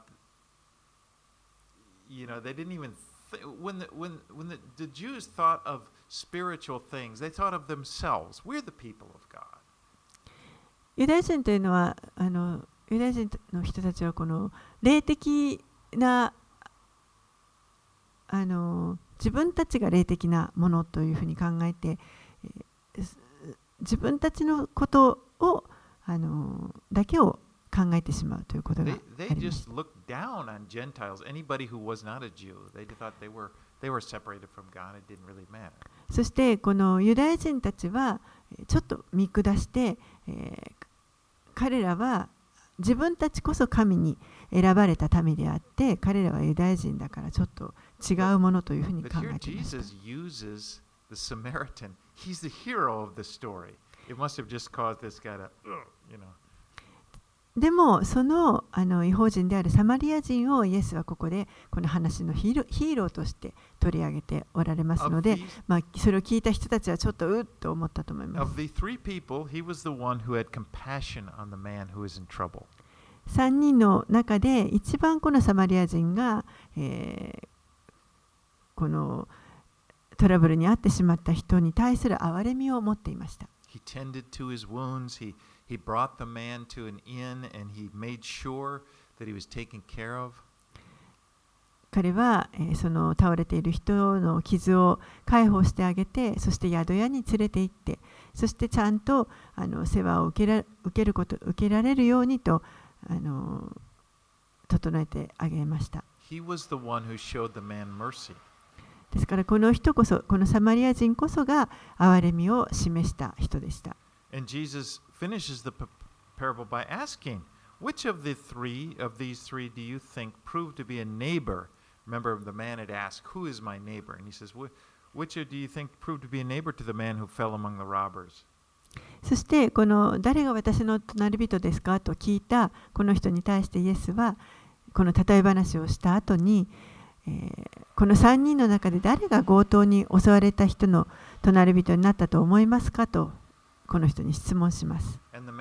you know, they didn't even When the, when, when the, the Jews thought of spiritual things, they thought of themselves. We're the people of God. ユダヤ人というのはあのユダヤ人の人たちはこの霊的なあの自分たちが霊的なものというふうに考えて、自分たちのことをあのだけを考えてしまうということがあります。そしてこのユダヤ人たちはちょっと見下して、えー、彼らは自分たちこそ神に選ばれた民であって、彼らはユダヤ人だからちょっと違うものというふうに考えていました。でもその、あの異邦人であるサマリア人をイエスはここでこの話のヒーロー、ヒーローとして取り上げておられますので、まあ、それを聞いた人たちはちょっとうっと思ったと思います。さんにんの中で一番このサマリア人が、えー、このトラブルに遭ってしまった人に対する憐れみを持っていました。 He tended to his wounds. He, he brought the man to an inn and he made sure that he was taken care of. 彼は、えー、その倒れている人の傷を解放してあげて、そして宿屋に連れて行って、そしてちゃんとあの世話を受けら、受けること、受けられるようにとあの整えてあげました。 He was the one who showed the man mercy. ですからこの人こそ、このサマリア人こそが憐れみを示した人でした。 And Jesus finishes the parable by asking, which of the three of these three do you think proved to be a neighbor? Remember, the man had asked, who is my neighbor? And he says, which do you think proved to be a neighbor to the man who fell among the robbers? そしてこの誰が私の隣人ですかと聞いたこの人に対してイエスはこの例え話をした後に、えー、このさんにんの中で誰が強盗に襲われた人の隣人になったと思いますかとこの人に質問します。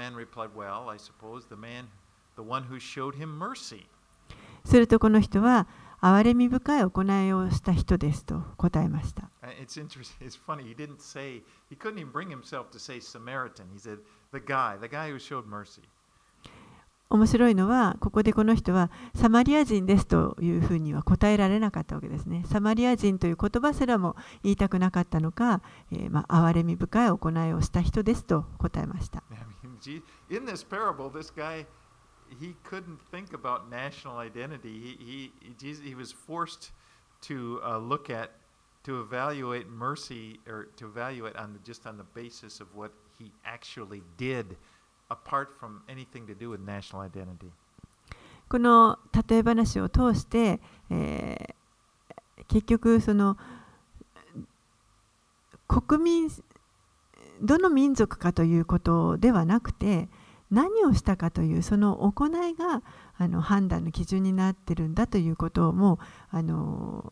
するとこの人は憐れみ深い行いをした人ですと答えました。 It's interesting. It's funny. He didn't say, he couldn't even bring himself to say Samaritan. He said, the guy, the guy who showed mercy. 面白いのは、ここでこの人はサマリア人ですというふうには答えられなかったわけですね。サマリア人という言葉すらも言いたくなかったのか、えー、まあ憐れみ深い行いをした人ですと答えました。 In this parable, this guy, he couldn't think about national identity. He, he, he was forced to uh, look at to evaluate mercy or to evaluate on the, just on the basis of what he actually did, apart from anything to do with national identity. この例え話を通して、えー、結局その国民どの民族かということではなくて、何をしたかというその行いがあの判断の基準になっているんだということをもうあの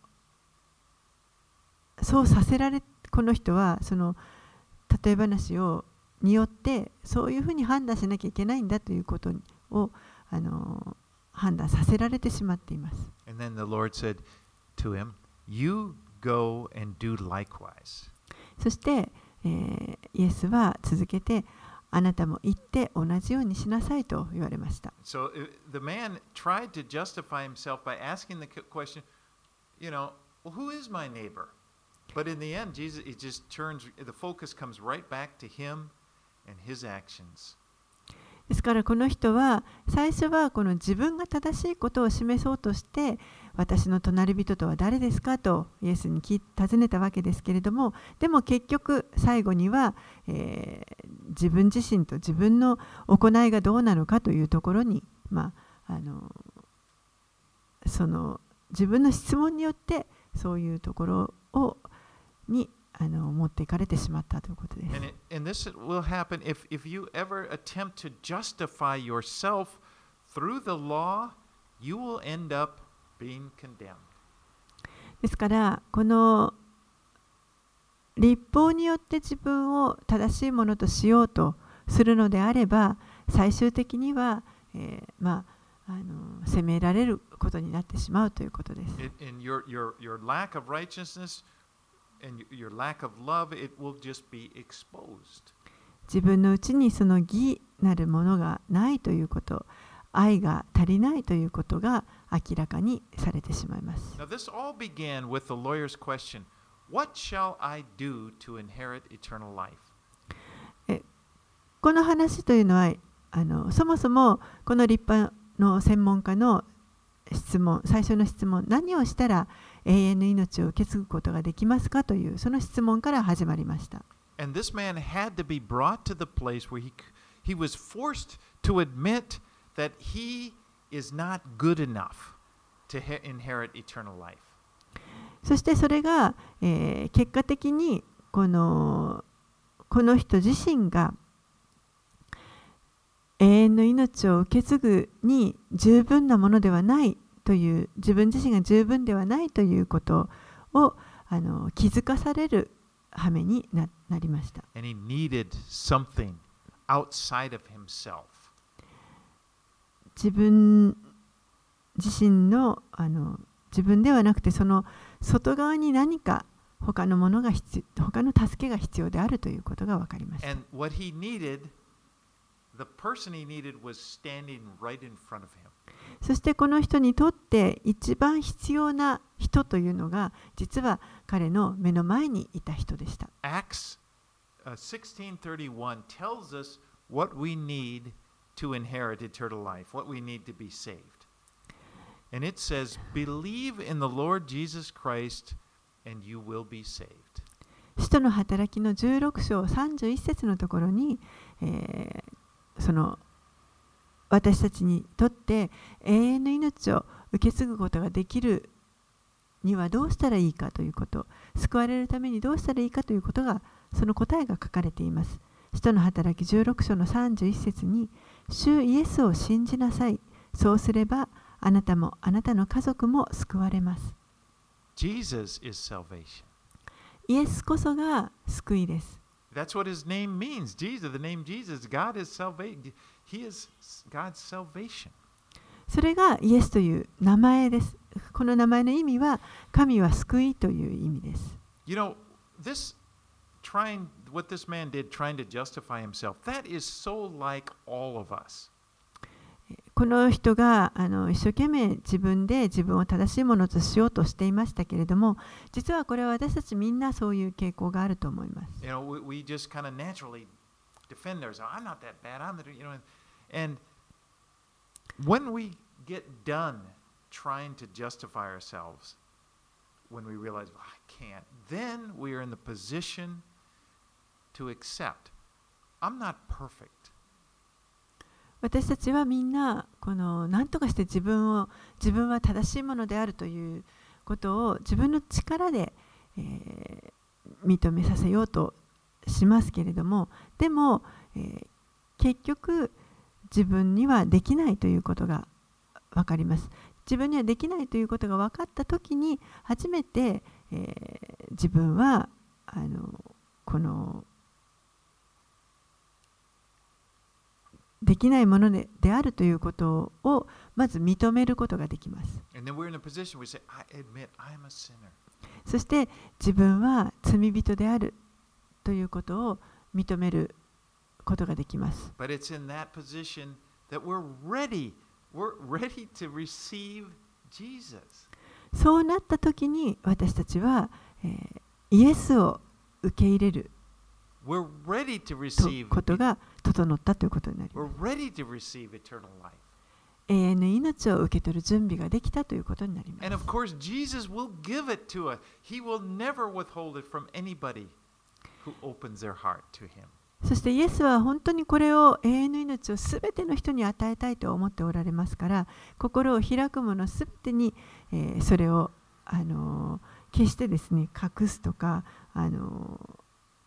そうさせられ、この人はその例え話をによってそういうふうに判断しなきゃいけないんだということをあの判断させられてしまっています。 And then the Lord said to him, "You go and do likewise." そして、えー、イエスは続けて、あなたも行って同じようにしなさいと言われました。 So the man tried to justify himself by asking the question, you know, well, who is my neighbor? But in the end, Jesus, it just turns, the focus comes right back to him and his actions. ですからこの人は最初はこの自分が正しいことを示そうとして、私の隣人とは誰ですかとイエスに尋ねたわけですけれども、でも結局最後には、えー、自分自身と自分の行いがどうなのかというところに、まあ、あのその自分の質問によってそういうところをにあの持っていかれてしまったということです。 And, it, and this will happen if, if you ever attempt to justify yourself through the law, you will end up being condemned. ですからこの律法によって自分を正しいものとしようとするのであれば、最終的には、えー、まああの責められることになってしまうということです。 In your, your, your lack of righteousness and your lack of love, it will just be exposed. 自分のうちにその義なるものがないということ、愛が足りないということが明らかにされてしまいます。 Now, this all began with the lawyer's question, What shall I do to inherit eternal life? えこの話というのはあのそもそもこの立派の専門家の質問、最初の質問、何をしたら永遠の命を受け継ぐことができますかというその質問から始まりました。 And this man had to be brought to the place where he, he was forced to admit that he is not good enough to inherit eternal life. そしてそれが、えー、結果的にこの、この人自身が永遠の命を受け継ぐに十分なものではないという、自分自身が十分ではないということをあの気づかされる羽目に な, なりました。 And he needed something outside of himself. 自分自身の、あの自分ではなくてその外側に何か他のものが必要、他の助けが必要であるということが分かりました。 And what he needed, the person he needed was standing right in front of him. そしてこの人にとって一番必要な人というのが実は彼の目の前にいた人でした。 Acts sixteen thirty-one tells us what we need to inherit eternal life, what we need to be saved. And it says, believe in the Lord Jesus Christ and you will be saved. 使徒の働きのじゅうろく章さんじゅういち節のところに、えー、その私たちにとって永遠の命を受け継ぐことができるにはどうしたらいいかということ、救われるためにどうしたらいいかということが、その答えが書かれています。使徒の働きじゅうろく章のさんじゅういち節に、主イエスを信じなさい。そうすればあなたもあなたの家族も救われます。 Jesus is salvation. イエスこそが救いです。 That's what his name means. Jesus, the name Jesus, God is salvation. He is God's salvation. それがイエスという名前です。この名前の意味は神は救いという意味です。 You know, this trying what this man did, trying to justify himself, that is so like all of us. この人があの一生懸命自分で自分を正しいものとしようとしていましたけれども、実はこれは私たちみんなそういう傾向があると思います。 You know, we, we just kind of naturally defend ourselves. I'm not that bad. I'm the, you know, and when we get done trying to justify ourselves, when we realize, oh, I can't, then we are in the position to accept. I'm not perfect. 私たちはみんなこの何とかして自分を自分は正しいものであるということを自分の力で、えー、認めさせようとしますけれども、でも、えー、結局自分にはできないということが分かります。自分にはできないということが分かったときに初めて、えー、自分はあのこのできないもの で, であるということをまず認めることができます。そして自分は罪人であるということを認めることができます。 But it's in that position that we're ready. We're ready to receive Jesus. そうなったときに私たちは、えー、イエスを受け入れる We're ready to receive ことが整ったということになります。 We're ready to receive eternal life. 永遠の命を受け取る準備ができたということになります。 And of course, Jesus will give it to us. He will never withhold it from anybody who opens their heart to Him. そしてイエスは本当にこれを永遠の命をすべての人に与えたいと思っておられますから、心を開く者すべてに、えー、それを、あのー、決してですね、隠すとか、あのー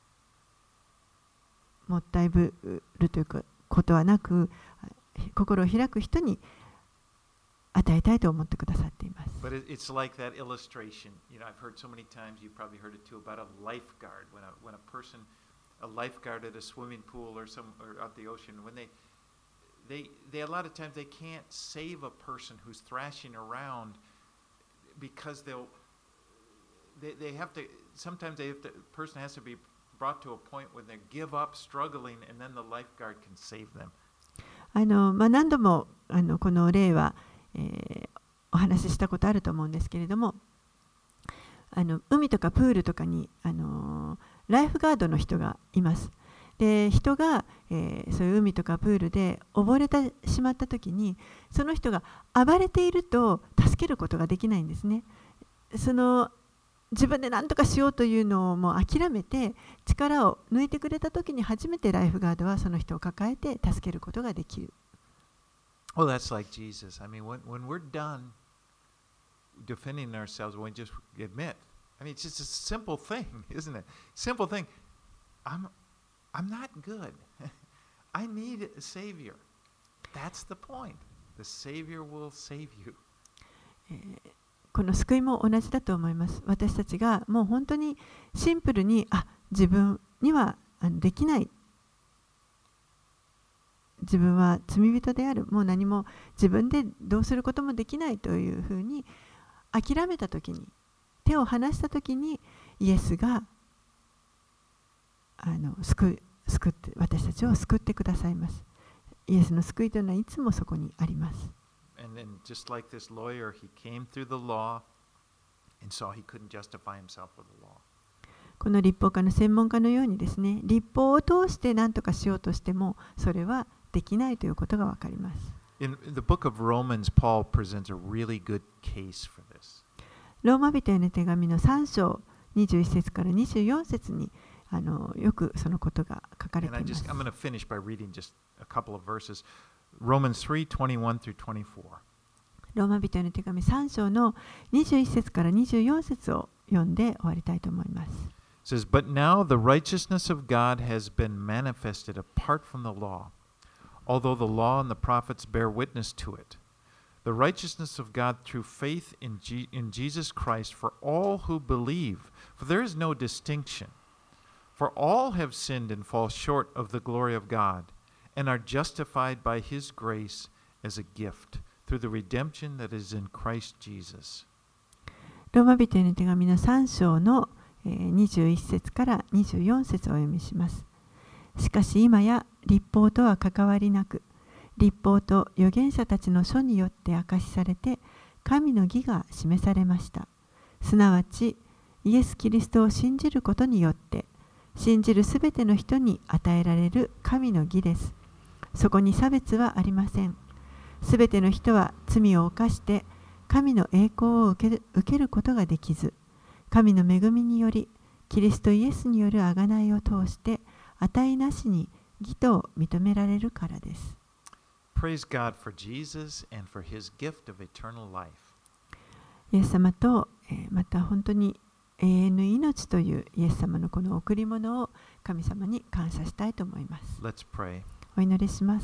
もったいぶるということはなく、心を開く人に与えたいと思ってくださっています。 But it's like that illustration. You know, I've heard so many times, you probably heard it too, about a lifeguard. When a, when a person, a lifeguard at a swimming pool or some or at the ocean, when they, they, they a lot of times they can't save a person who's thrashing around because they'll, they, they have to, sometimes they have to, the person has to be brought to a point where they give up struggling and then the lifeguard can save them. あのまあ、何度もあのこの例は、えー、お話ししたことあると思うんですけれども、あの海とかプールとかにあのライフガードの人がいます。で、人が、えー、そういう海とかプールで溺れてしまったときに、その人が暴れていると助けることができないんですね。その自分で何とかしようというのをもう諦めて力を抜いてくれたときに初めてライフガードはその人を抱えて助けることができる。 Well, that's like Jesus. I mean, when, when we're done defending ourselves, when we just admit, I mean, it's just a simple thing, isn't it? Simple thing. I'm, I'm not good. I need a Savior. That's the point. The Savior will save you. この救いも同じだと思います。私たちがもう本当にシンプルに、あ、自分にはできない。自分は罪人である。もう何も自分でどうすることもできないというふうに諦めたときに、手を離したときに、イエスがあの救い、救って、私たちを救ってくださいます。イエスの救いというのはいつもそこにあります。 And then just like this lawyer, he came through the law and saw he couldn't justify himself with the law. この立法家の専門家のようにですね、立法を通して何とかしようとしてもそれはできないということがわかります。 In the book of Romans, Paul presents a really good case for this. ローマ人への手紙のさん章にじゅういち節からにじゅうよん節にあのよくそのことが書かれています。 And I just, I'm going to finish by reading just a couple of verses.Romans three twenty-one through twenty-four. ローマ人への手紙さん章のにじゅういち節からにじゅうよん節を読んで終わりたいと思います。 It says, But now the righteousness of God has been manifested apart from the law, although the law and the prophets bear witness to it. The righteousness of God through faith in, G- in Jesus Christ for all who believe, for there is no distinction. For all have sinned and fall short of the glory of God.And are justified by His grace as a gift through the redemption that is in Christ Jesus. ローマ人への手紙のさん章のにじゅういち節からにじゅうよん節をお読みします。しかし今や立法とは関わりなく、立法と預言者たちの書によって明かしされて、神の義が示されました。すなわち、イエス・キリストを信じることによって、信じるすべての人に与えられる神の義です。そこに差別はありません。すべての人は罪を犯して神の栄光を受ける、受けることができず、 神の恵みによりキリストイエスによる贖いを通して値なしに義と認められるからです。 Praise God for Jesus and for his gift of eternal life. イエス様と、えー、また本当に永遠の命というイエス様のこの贈り物を神様に感謝したいと思います。 Let's pray. お祈りします。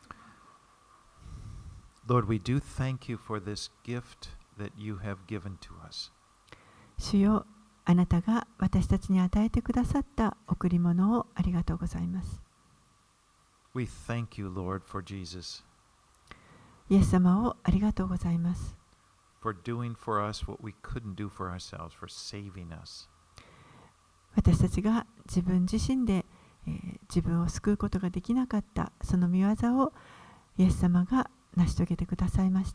Lord, we do thank you for this gift that you have given to us. 主よ、あなたが私たちに与えてくださった贈り物をありがとうございます。 We thank you, Lord, for Jesus. イエス様をありがとうございます。 For doing for us what we couldn't do for ourselves, for saving us. 私たちが自分自身で、えー、自分を救うことができなかったその御業をイエス様が成し遂げてくださいました。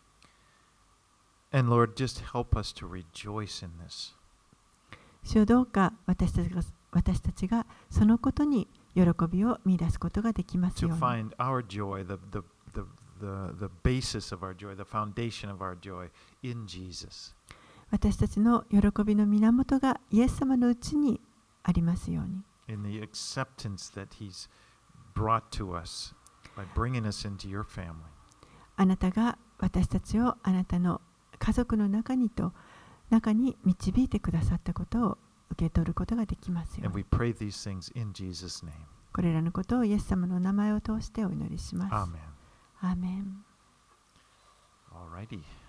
And Lord, just help us to rejoice in this. 主よ、どうか私たちが私たちがそのことに喜びを見出すことができますよう To に。 find our joy, the, the, the, the, the basis of our joy, the foundation of our joy in Jesus. 私たちの喜びの源がイエス様のうちにありますように。 In the acceptance that He's brought to us by bringing us into your family. あなたが私たちをあなたの家族の中にと中に導いてくださったことを受け取ることができますよ And うに。 we pray these things in Jesus' name. これらのことをイエス様の名前を通してお祈りします。 Amen. アーメン。 All righty.